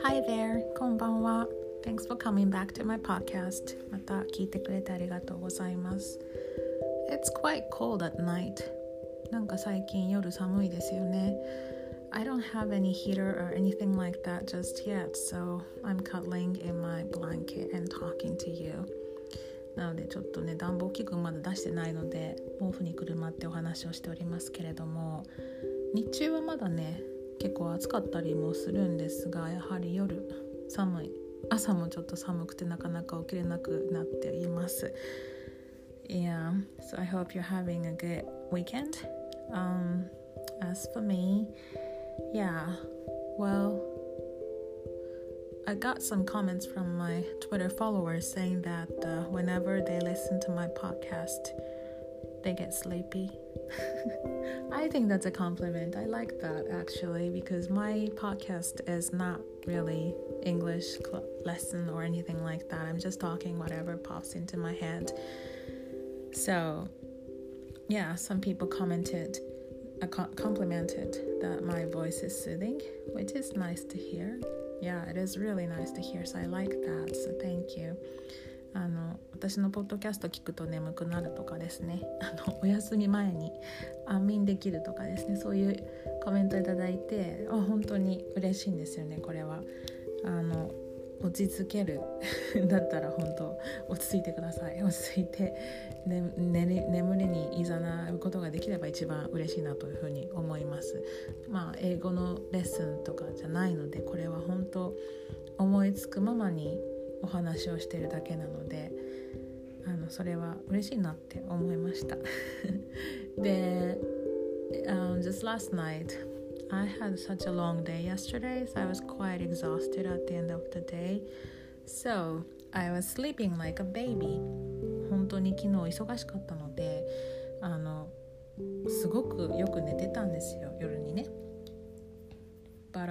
Hi there, こんばんは。Thanks for coming back to my podcast. また聞いてくれてありがとうございます。It's quite cold at night. なんか最近夜寒いですよね。I don't have any heater or anything like that just yet, so I'm cuddling in my blanket and talking to you. なのでちょっとね、暖房器具まだ出してないので、毛布にくるまってお話をしておりますけれども、日中はまだね、結構暑かったりもするんですが、やはり夜寒い、朝もちょっと寒くてなかなか起きれなくなっています。Yeah, so I hope you're having a good weekend. As for me, yeah, well, I got some comments from my Twitter followers saying that whenever they listen to my podcast, they get sleepy. I think that's a compliment. I like that actually because my podcast is not really English lesson or anything like that. I'm just talking whatever pops into my head. So, yeah, some people complimented that my voice is soothing, which is nice to hear. Yeah, it is really nice to hear, so I like that, so thank you. 私のポッドキャスト聞くと眠くなるとかですね、お休み前に安眠できるとかですね、そういうコメントいただいて、本当に嬉しいんですよね。これは落ち着けるだったら本当落ち着いてください。落ち着いて、眠りにいざなうことができれば一番嬉しいなというふうに思います。英語のレッスンとかじゃないので、これは本当思いつくままにお話をしているだけなので、それは嬉しいなって思いました。で、just last night I had such a long day yesterday, so I was quite exhausted at the end of the day. So I was sleeping like a baby. 本当に昨日忙しかったので、すごくよく寝てたんですよ、夜にね。But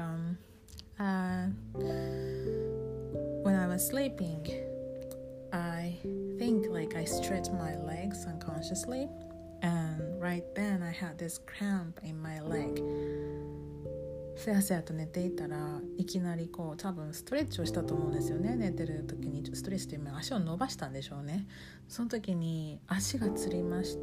when I was sleeping, I think like I stretched my legs unconsciously, and right then I had this cramp in my leg. せやせやと寝ていたらいきなり多分ストレッチをしたと思うんですよね。寝てる時にストレッチという足を伸ばしたんでしょうね。その時に足がつりまして、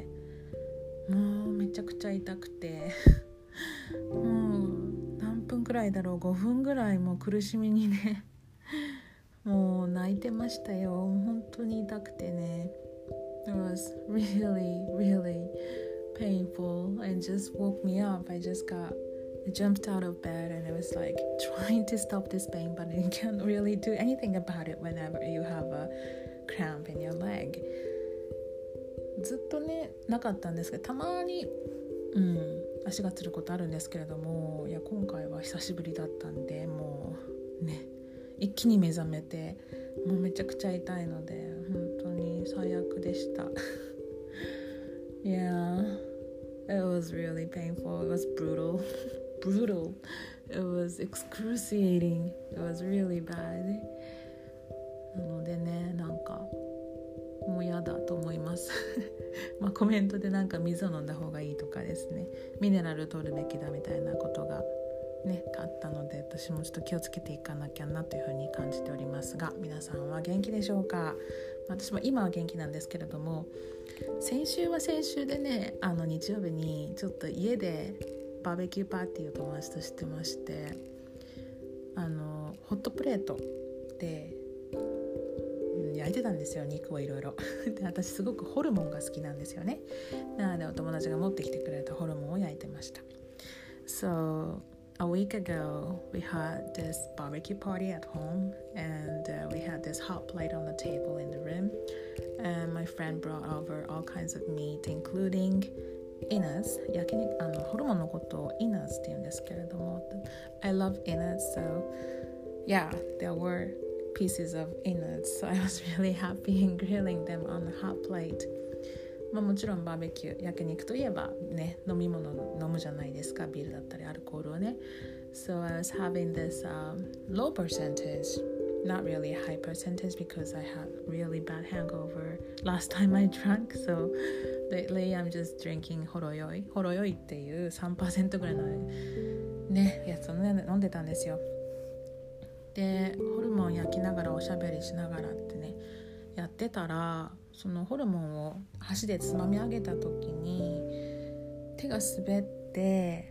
もうめちゃくちゃ痛くてもう何分くらいだろう、5分ぐらいもう苦しみにねもう泣いてましたよ。本当に痛くてね。It was really, really painful and just woke me up. I jumped out of bed and it was like trying to stop this pain, but you can't really do anything about it whenever you have a cramp in your leg. ずっとね、なかったんですけど、たまに、足がつることあるんですけれども、いや今回は久しぶりだったんで、もうね、一気に目覚めて、もうめちゃくちゃ痛いので本当に最悪でした。Yeah, it was really painful. It was brutal. It was excruciating. It was really bad. なのでね、なんかもう嫌だと思いますコメントでなんか水を飲んだ方がいいとかですね、ミネラル取るべきだみたいなことがね、あったので、私もちょっと気をつけていかなきゃなというふうに感じておりますが、皆さんは元気でしょうか？私も今は元気なんですけれども、先週は先週でね、日曜日にちょっと家でバーベキューパーティーを友達としてまして、ホットプレートで焼いてたんですよ、肉をいろいろで、私すごくホルモンが好きなんですよね。なのでお友達が持ってきてくれたホルモンを焼いてました。So a week ago, we had this barbecue party at home, and we had this hot plate on the table in the room, and my friend brought over all kinds of meat, including innards. 焼肉、ホルモンのことを innards って言うんですけれども、I love innards, so yeah, there were pieces of innards, so I was really happy in grilling them on the hot plate. もちろんバーベキュー、焼肉といえばね、飲み物飲むじゃないですか、ビールだったりアルコールをね。So I was having this low percentage, not really a high percentage because I had really bad hangover last time I drank. So lately I'm just drinking ほろ酔いっていう 3% ぐらいのね、やつを、ね、飲んでたんですよ。 でホルモン焼きながらおしゃべりしながらってねやってたら、そのホルモンを箸でつまみ上げた時に手が滑って、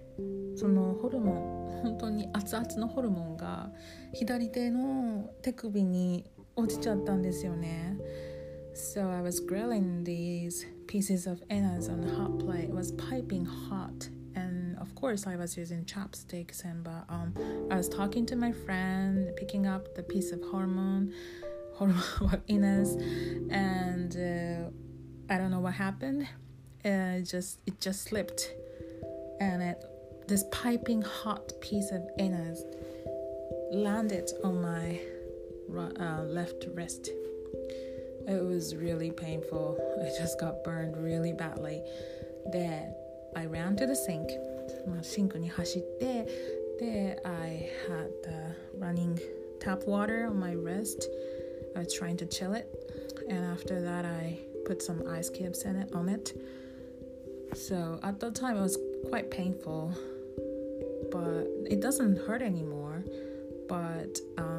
そのホルモン、本当に熱々のホルモンが左手の手首に落ちちゃったんですよね。So I was grilling these pieces of innards on a hot plate. It was piping hot, and of course I was using chopsticks. And but I was talking to my friend, picking up the piece of hormone innards, and I don't know what happened. It just slipped, and this piping hot piece of innards landed on my left wrist. It was really painful. I just got burned really badly. Then I ran to the sink. シンクに走って、で I had the running tap water on my wrist. I was trying to chill it, and after that I put some ice cubes on it. So at the time it was quite painful, but it doesn't hurt anymore. But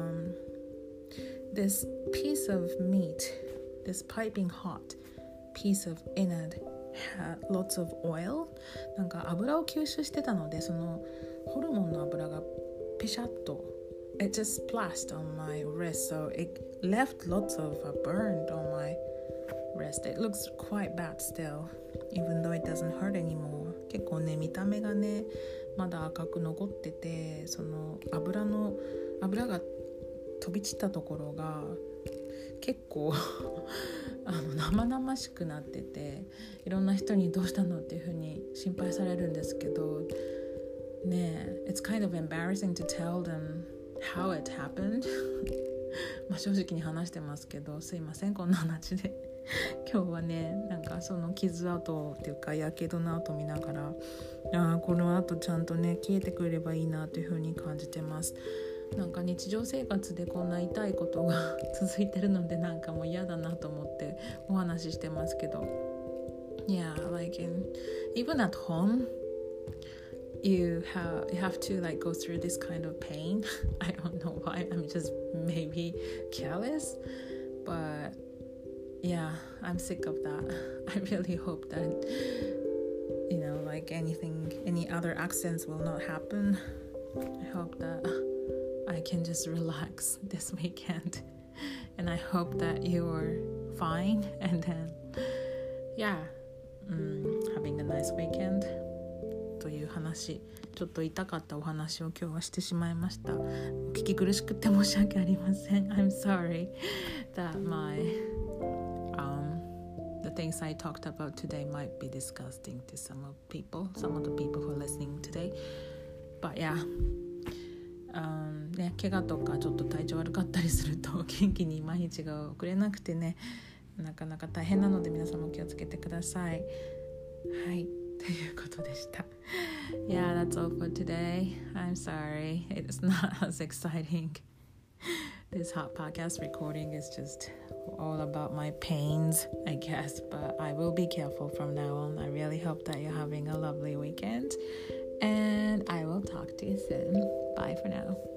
this piece of meat, this piping hot piece of innard had lots of oil. なんか油を吸収してたので、そのホルモンの油がピシャッと it just splashed on my wrist, so it left lots of burn on my wrist. It looks quite bad still, even though it doesn't hurt anymore. 結構ね、見た目がねまだ赤く残ってて、その油が飛び散ったところが結構生々しくなってて、いろんな人にどうしたのっていう風に心配されるんですけどね、it's kind of embarrassing to tell them how it happened まあ正直に話してますけど、すいませんこんな話で今日はね、なんかその傷跡っていうかやけどの跡見ながら、この後ちゃんとね消えてくればいいなという風に感じてます。なんか日常生活でこんな痛いことが続いてるので、なんかもう嫌だなと思ってお話ししてますけど、 Yeah, like even at home you have to like go through this kind of pain. I don't know why, I'm just maybe careless, but yeah, I'm sick of that. I really hope that like any other accidents will not happen. I hope that I can just relax this weekend, and I hope that you're fine, and then having a nice weekend という話、ちょっと痛かったお話を今日はしてしまいました。お聞き苦しくて申し訳ありません。 I'm sorry that the things I talked about today might be disgusting to some of the people who are listening today, but yeah, 怪我とかちょっと体調悪かったりすると元気に毎日が送れなくてね、なかなか大変なので皆さんも気をつけてください。はい、ということでした。Yeah, that's all for today. I'm sorry, it's not as exciting. This hot podcast recording is just all about my pains, I guess, but I will be careful from now on. I really hope that you're having a lovely weekend, and I will talk to you soon. Bye for now.